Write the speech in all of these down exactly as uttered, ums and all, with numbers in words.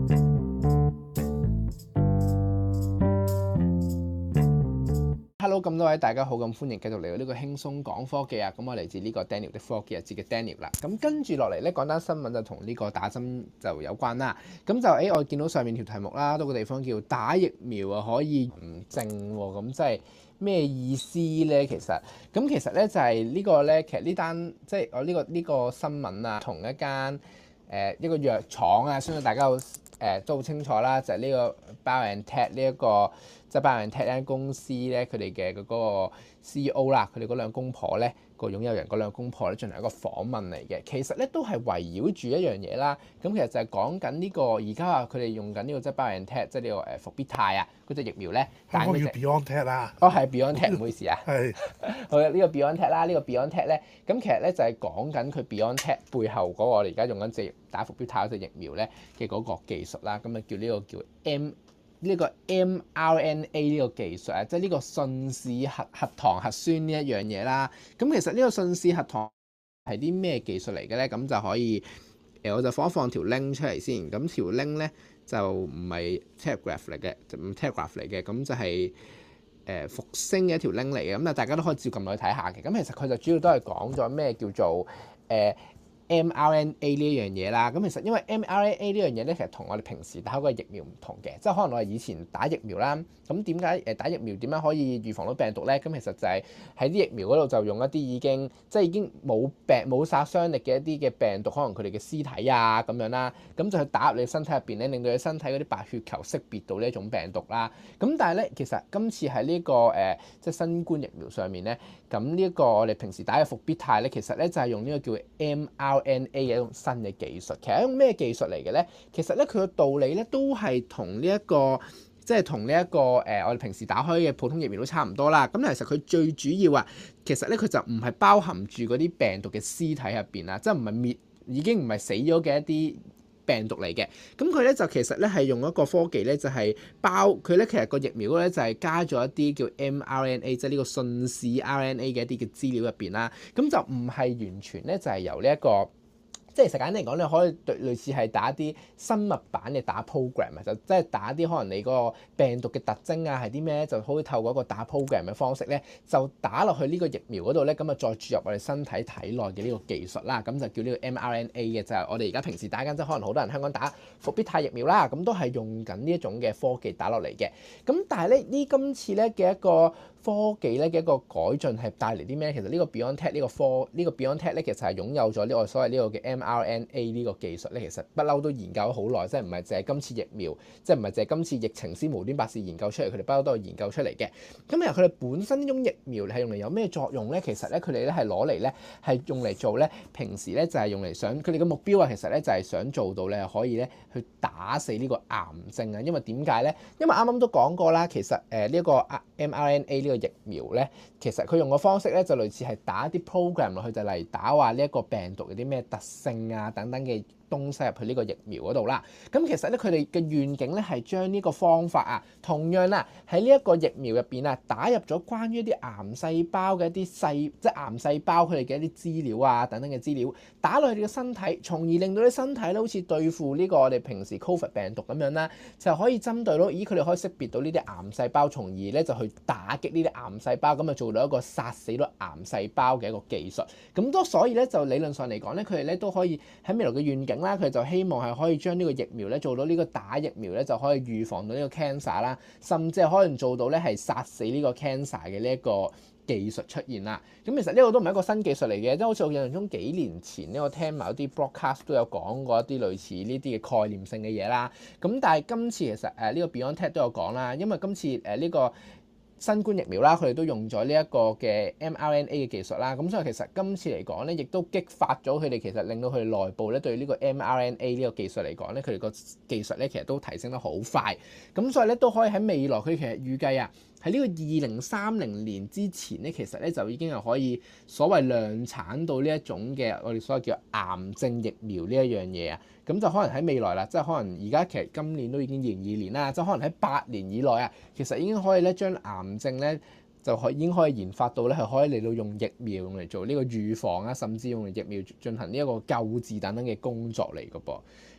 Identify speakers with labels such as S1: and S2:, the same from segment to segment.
S1: Hello， 咁多位大家好，咁歡迎繼續嚟到呢個輕鬆講科技啊！咁我嚟自呢個 Daniel 的科技日誌嘅 Daniel 啦。咁跟住落嚟咧，講單新聞就同呢個打針就有關啦。咁就誒、欸，我見到上面條題目啦，多個地方叫打疫苗啊可以唔症喎，咁即係咩意思咧？其實咁其實咧就係呢個咧，其實呢單即係我呢個呢、這個新聞啊，同一間誒、呃、一個藥廠啊，相信大家好誒、呃、都好清楚啦，就係、是、呢個 BioNTech 呢一個。即係 BioNTech 呢間公司咧，佢哋嘅嗰個 C E O 啦，佢哋嗰兩公婆咧，個擁有人嗰兩公婆咧，進行一個訪問嚟嘅。其實咧都係圍繞住一樣嘢啦。咁其實就係講緊呢個而家話佢哋用緊呢個即係 BioNTech，即係呢個誒復必泰啊嗰隻疫苗咧。
S2: 香港叫 BioNTech 啦。
S1: 哦，係 BioNTech，唔好意思啊。係。好嘅，呢個 BioNTech 啦，呢個 BioNTech 咧，咁其實咧就係講緊佢 BioNTech 背後嗰個我哋而家用緊隻打復必泰嗰隻疫苗咧嘅嗰個技術啦。咁啊叫呢個叫 M。呢個 mRNA 呢個技術啊，即係呢個信使核核糖核酸呢一樣嘢啦。咁其實呢個信使核糖係啲咩技術嚟嘅咧？咁就可以誒，我就放一放條 link 出嚟先。咁條 link 咧就唔係 Telegraph 嚟嘅，就唔 Telegraph 嚟嘅。咁就係誒復星嘅一條 link 嚟嘅。咁啊，大家都可以照撳落去睇下嘅。咁其實佢就主要都係講咗咩叫做誒。呃mRNA 呢一樣嘢啦，咁其實因為 mRNA 呢樣嘢咧，其實同我哋平時打嗰個疫苗唔同嘅，即係可能我哋以前打疫苗啦，咁點解誒打疫苗點樣可以預防到病毒咧？咁其實就係喺啲疫苗嗰度就用一啲已經即係已經冇病冇殺傷力嘅一啲嘅病毒，可能佢哋嘅屍體啊咁樣啦，咁就去打入你身體入邊咧，令到你身體嗰啲白血球識別到呢一種病毒啦。咁但係咧，其實今次喺呢、這個誒、呃、即係新冠疫苗上面咧，咁呢一個我哋平時打嘅復必泰咧，其實咧就係用呢個叫 mRNA N A 嘅一種新嘅技術，其實一種咩技術嚟嘅咧？其實咧佢嘅道理咧都係同呢一個，即係同呢一個誒、呃，我哋平時打開嘅普通疫苗都差唔多啦。咁其實佢最主要啊，其實咧佢就唔係包含住嗰啲病毒嘅屍體入邊啊，即係唔係滅已經唔係死咗嘅一啲病毒嚟嘅。咁佢咧就其實咧係用一個科技咧，就係包佢咧其實個疫苗咧就係加咗一啲叫 mRNA，即係呢個信使 R N A 嘅一啲嘅資料入邊啦。咁就唔係完全咧就係由呢一個。即係實簡單嚟講，你可以對類似係打啲生物版嘅打 program 啊，就即係打啲可能你嗰個病毒嘅特徵啊係啲咩，就可以透過一個打 program 嘅方式咧，就打落去呢個疫苗嗰度咧，咁啊再注入我哋身體體內嘅呢個技術啦，咁就叫呢個 mRNA 嘅，就係我哋而家平時打緊，即係可能好多人香港打復必泰疫苗啦，咁都係用緊呢一種嘅科技打落嚟嘅。咁但係咧呢今次咧嘅一個科技咧嘅一個改進係帶嚟啲咩？其實呢個 BioNTech 呢個科呢個 BioNTech 咧其實係擁有咗呢個所謂呢個嘅 mRNA 呢個技術咧，其實不嬲都研究咗好耐，即係唔係淨係今次疫苗，即係唔係淨係今次疫情先無端白事研究出嚟，佢哋不嬲都係研究出嚟嘅。咁由佢哋本身呢種疫苗係用嚟有咩作用咧？其實咧佢哋咧係攞嚟咧係用嚟做咧平時咧就係用嚟想佢哋嘅目標啊，其實咧就係想做到咧可以咧去打死呢個癌症啊。因為點解咧？因為啱啱都講過啦，其實誒呢一個 mRNA 呢個疫苗咧，其實佢用嘅方式咧就類似係打一啲 program 落去，就嚟打話呢一個病毒有啲咩特性啊等等嘅東西入去呢個疫苗嗰度啦。咁其實咧佢哋嘅願景咧係將呢個方法啊，同樣啦喺呢一個疫苗入邊啊，打入咗關於一啲癌細胞嘅一啲細，即係癌細胞佢哋嘅一啲資料啊等等嘅資料，打落去你嘅身體，從而令到你身體咧好似對付呢個我哋平時 Covid 病毒咁樣啦，就可以針對到，咦佢哋可以識別到呢啲癌細胞，從而咧就去打擊呢啲癌細胞，咁啊做到一個殺死到癌細胞嘅一個技術。咁都所以咧就理論上嚟講咧，佢哋咧都可以喺未來嘅願景啦，佢就希望係可以將呢個疫苗咧做到呢個打疫苗咧就可以預防到呢個 cancer 啦，甚至係可能做到咧係殺死呢個 cancer 嘅呢一個技術出現啦。咁其實呢個都唔係一個新技術嚟嘅，即係好似我印象中幾年前呢，我聽埋一啲 broadcast 都有講過一啲類似呢啲嘅概念性嘅嘢啦。咁但係今次其實誒呢個 BioNTech 都有講啦，因為今次誒呢個新冠疫苗啦，佢哋都用咗呢一個嘅 mRNA 嘅技術啦，咁所以其實今次嚟講咧，亦都激發咗佢哋，其實令到佢哋內部咧對呢個 mRNA 呢個技術嚟講咧，佢哋個技術咧其實都提升得好快，咁所以咧都可以喺未來佢其實預計啊，喺呢個二零三零年之前咧，其實咧就已經係可以所謂量產到呢一種嘅我哋所謂叫癌症疫苗呢一樣嘢啊，咁就可能喺未來啦，即係可能而家其實今年都已經二零二二年啦，即係可能喺八年以內啊，其實已經可以咧將癌症咧就可已經可以研發到咧係可以嚟到用疫苗用嚟做呢個預防啊，甚至用嚟疫苗進行呢一個救治等等嘅工作嚟嘅噃。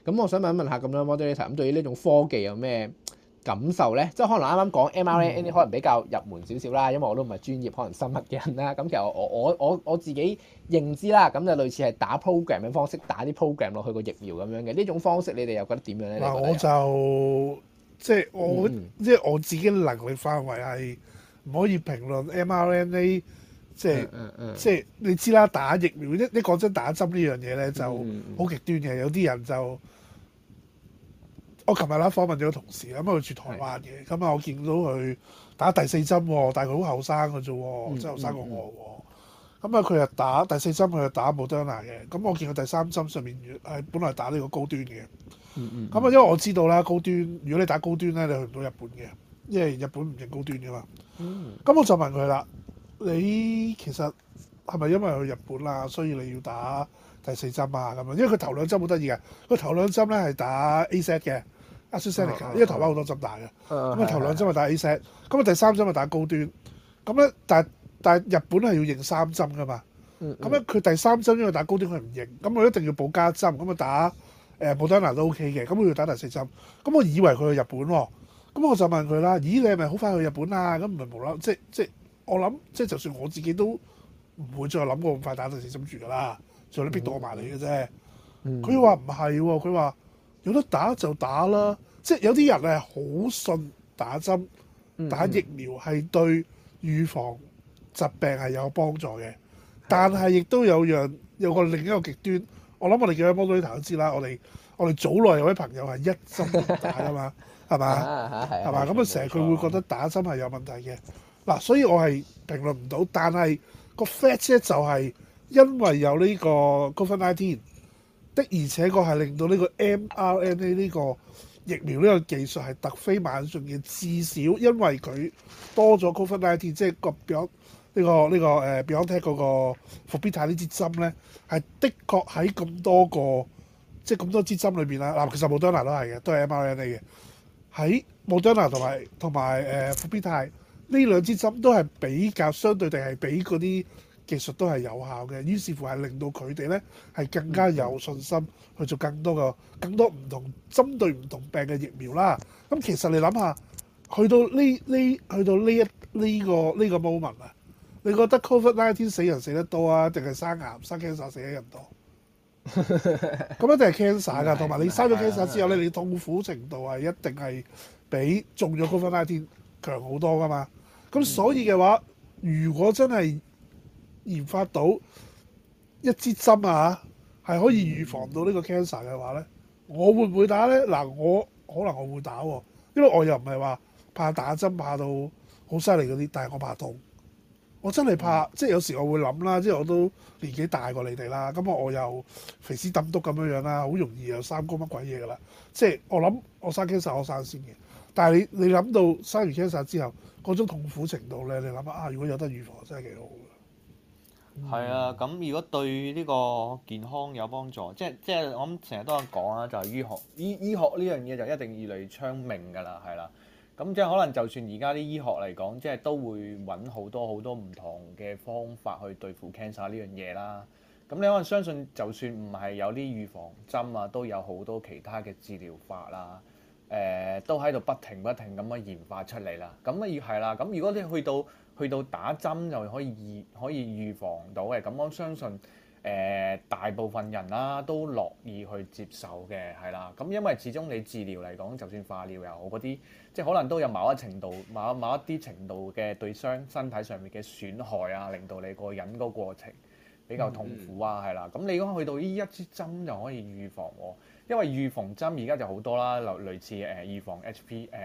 S1: 咁我想問一問下咁樣 moderator，咁對於呢種科技有咩感受咧？即係可能啱啱講 M R N A 可能比較入門少少啦，因為我都唔係專業可能生物嘅人啦。咁其實我我我我自己認知啦，咁就類似係打 program 嘅方式，打啲 program 落去個疫苗咁樣嘅呢種方式，你哋又覺得點樣咧？
S2: 嗱，我就即係我、嗯、即係我自己能力範圍係唔可以評論 M R N A， 即係、嗯嗯、即係你知啦，打疫苗一一講真打針呢樣嘢咧就好極端嘅，有啲人就。我琴日啦訪問咗個同事，咁佢住台灣嘅，咁啊的我見到佢打第四針喎，但係佢好後生嘅啫喎，真係後生過我喎。咁啊佢又打第四針，佢又打 Moderna 嘅。咁我見佢第三針上面係本來打呢個高端嘅。咁啊、嗯嗯、因為我知道啦，高端如果你打高端咧，你去唔到日本嘅，因為日本唔認高端㗎嘛。咁、嗯、我就問佢啦，你其實係咪因為去日本啊，所以你要打第四針啊咁樣？因為佢頭兩針好得意嘅，佢頭兩針咧係打 A Z 嘅。AstraZeneca，因為台灣好多針打嘅，咁啊頭兩針咪打 A Z，咁啊第三針咪打高端，咁咧但係但係日本係要認三針噶嘛，咁咧佢第三針因為打高端佢唔認，咁佢一定要補加針，咁啊打誒 Moderna 都 OK 嘅，咁佢要打第四針，咁我以為佢去日本喎，咁我就問佢啦，咦你係咪好快去日本啊？咁唔係無啦，即即我諗即就算我自己都唔會再諗過咁快打第四針住噶啦，仲有你逼到我埋嚟嘅啫，佢話唔係喎，佢話。有得打就打啦，即係有啲人係好信打針、打疫苗係對預防疾病係有幫助嘅，但係亦都有樣有個另一個極端，我諗我哋幾位 moderator 都知啦，我哋我哋早內有位朋友係一針都唔打㗎嘛，係嘛？係嘛？咁啊成日佢會覺得打針係有問題嘅，嗱，所以我係評論唔到，但係個 fact 咧就係因為有呢個 COVID 十九。的而且確係令到呢個 M R N A 呢個疫苗呢個技術係突飛猛進嘅，至少因為佢多咗 COVID 十九，即係個 Beyond 呢個呢個誒 BioNTech 嗰個復必泰呢支針咧，係的確喺咁多個即係咁多支針裏邊啦。嗱，其實 Moderna 都係嘅，都係 M R N A 嘅。喺 Moderna 同埋同埋誒復必泰呢兩支針都係比較相對地係比嗰啲技術都係有效嘅，於是乎係令到佢哋咧係更加有信心去做更多個、更多唔同針對唔同病嘅疫苗啦。咁其實你諗下，去到呢呢去到呢一呢個呢個 moment 啊，你覺得 COVID 十九 死人死得多啊，定係生癌生 cancer 死得人多？咁一定係 cancer 㗎，同埋你生咗 cancer 之後咧，你痛苦程度係一定係比中咗 COVID 十九強好多㗎嘛。咁所以嘅話，如果真係研發到一支針啊，係可以預防到呢個 cancer 嘅話咧，我會唔會打咧？嗱，我可能我會打喎，因為我又唔係話怕打針怕到好犀利嗰啲，但係我怕痛，我真係怕，即係有時我會諗啦，即係我都年紀大過你哋啦，咁我又肥屍揼篤咁樣樣啦，好容易又三高乜鬼嘢噶啦，即係我諗我生 cancer 我生先嘅，但係你你諗到生完 cancer 之後嗰種痛苦程度咧，你諗下啊，如果有得預防真係幾好。
S3: 係啊，咁如果對呢個健康有幫助，即係即係我諗成日都有講啦，就係、是、醫學醫醫學呢樣嘢就一定越嚟越昌明㗎啦，係啦。咁即係可能就算而家啲醫學嚟講，即係都會揾好多好多唔同嘅方法去對付 cancer 呢樣嘢啦。咁你可能相信，就算唔係有啲預防針啊，都有好多其他嘅治療法啦。誒、呃，都喺度不停不停咁樣研發出嚟啦。咁啊要係啦。咁如果你去到去到打針就可以預可以預防到嘅，咁我相信誒、呃、大部分人啦都樂意去接受嘅，係啦。咁因為始終你治療嚟講，就算化療又好嗰啲，即係可能都有某一程度、某某一啲程度嘅對傷身體上面嘅損害啊，令到你個人個過程比較痛苦啊，係啦、嗯。咁你如果去到呢一支針就可以預防喎，因為預防針而家就好多啦，類類似誒預防 H P 誒誒誒誒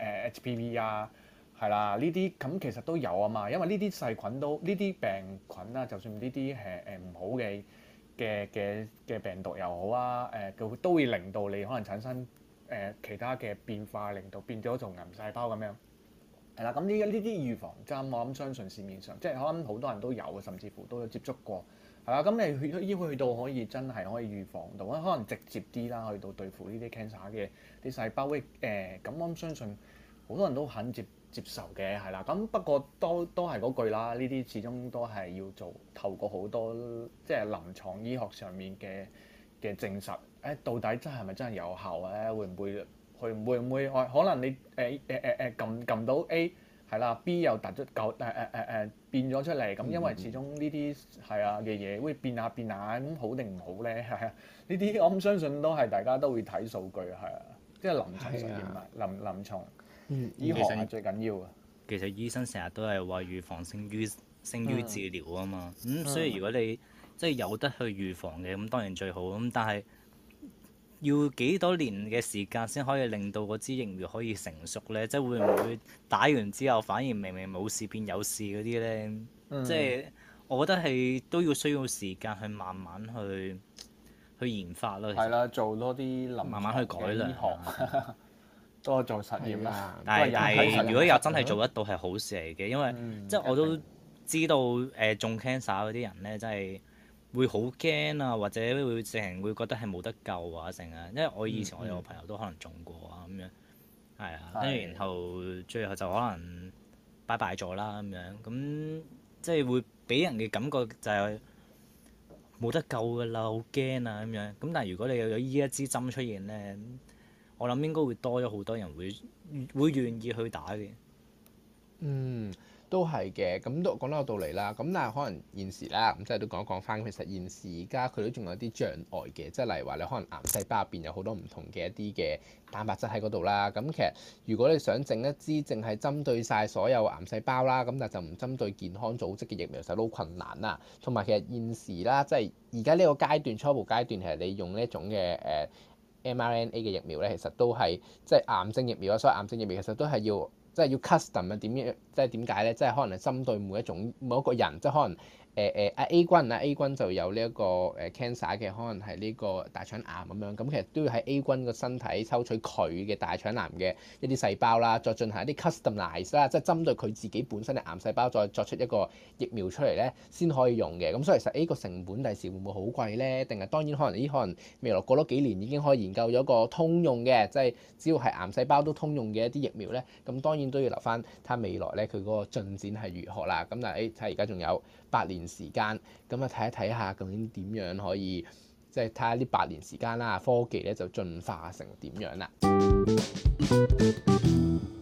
S3: H P V 啊。係啦，呢啲咁其實都有啊嘛，因為呢啲細菌都呢啲病菌啦，就算呢啲誒誒唔好嘅嘅嘅嘅病毒又好啊，誒佢都會令到你可能產生誒、呃、其他嘅變化，令到變咗做癌細胞咁樣。係啦，咁呢呢啲預防針我諗相信市面上即係可能好多人都有，甚至乎都有接觸過。係啦，咁你去要去到可以真係可以預防到，可能直接啲啦，去到對付呢啲 cancer 嘅啲細胞誒，咁、呃、我諗相信好多人都肯接。接受嘅係啦，咁不過都都係嗰句啦，呢啲始終都係要做透過好多即係臨床醫學上面嘅嘅證實誒到底真係咪真係有效咧？會唔會會唔會唔會可能你誒誒誒誒撳撳到 A 係啦 ，B 又突咗舊誒誒誒誒變咗出嚟，咁因為始終呢啲係啊嘅嘢會變下變下，咁好定唔好咧？係啊，呢啲我唔相信都係大家都會睇數據係啊，即係臨床實驗啊，臨臨床醫學係最緊要啊。
S4: 其實醫生成日都係話預防勝於勝於治療啊嘛，咁、嗯嗯、所以如果你即係有得去預防嘅，咁當然最好。咁但係要幾多年嘅時間先可以令到嗰支疫苗可以成熟咧？即係會唔會打完之後反而明明冇事變有事嗰啲咧？嗯、即係我覺得係都要需要時間去慢慢去去研發咯。係
S3: 啦，做多啲臨床
S4: 慢慢去改良。
S3: 多做實驗啦，
S4: 但係但係如果有真係做得到係好事嚟嘅，因為、嗯、即係我都知道誒、呃、中 cancer 嗰啲人咧，真係會好驚啊，或者會成日會覺得係冇得救啊，成啊，因為我以前我有個朋友都可能中過啊咁樣，係啊，跟住然後最後就可能拜拜咗啦咁樣，咁即係會俾人嘅感覺就係冇得救㗎啦，好驚啊咁樣。咁但係如果你有呢一支針出現咧，我諗應該會多咗好多人會會願意去打嘅。
S1: 嗯，都係嘅。咁都講得有道理啦。咁但係可能現時啦，咁即係都講一講翻。其實現時而家佢都仲有啲障礙嘅，即係例如話你可能癌細胞入邊有好多唔同嘅一啲嘅蛋白質喺嗰度啦。咁其實如果你想整一支淨係針對晒所有癌細胞啦，咁但係就唔針對健康組織嘅疫苗，其實都好困難啦。同埋其實現時啦，即係而家呢個階段初步階段，其實你用呢一種嘅誒。呃mRNA 嘅疫苗咧，其實都係即係癌症疫苗啊，所以癌症疫苗其實都係要即係要 custom 啊，點樣即係點解咧？即係可能係針對每一種每一個人，即係可能誒誒阿 A 君啊 A 君就有呢一個誒 cancer 嘅，可能係呢個大腸癌咁樣，咁其實都要喺 A 君個身體抽取佢嘅大腸癌嘅一啲細胞啦，再進行一啲 customize 啦，即係針對佢自己本身嘅癌細胞，再作出一個疫苗出嚟咧，先可以用嘅。咁所以其實呢個成本第時會唔會好貴咧？定係當然可能呢可能未來過多幾年已經可以研究咗一個通用嘅，即係只要係癌細胞都通用嘅一啲疫苗咧，咁當然都要留翻睇下未來咧佢嗰個進展係如何啦。咁但係誒睇下而家仲有八年時間，咁啊睇一睇下究竟點樣可以，即係睇下呢八年時間啦，科技咧就進化成點樣啦。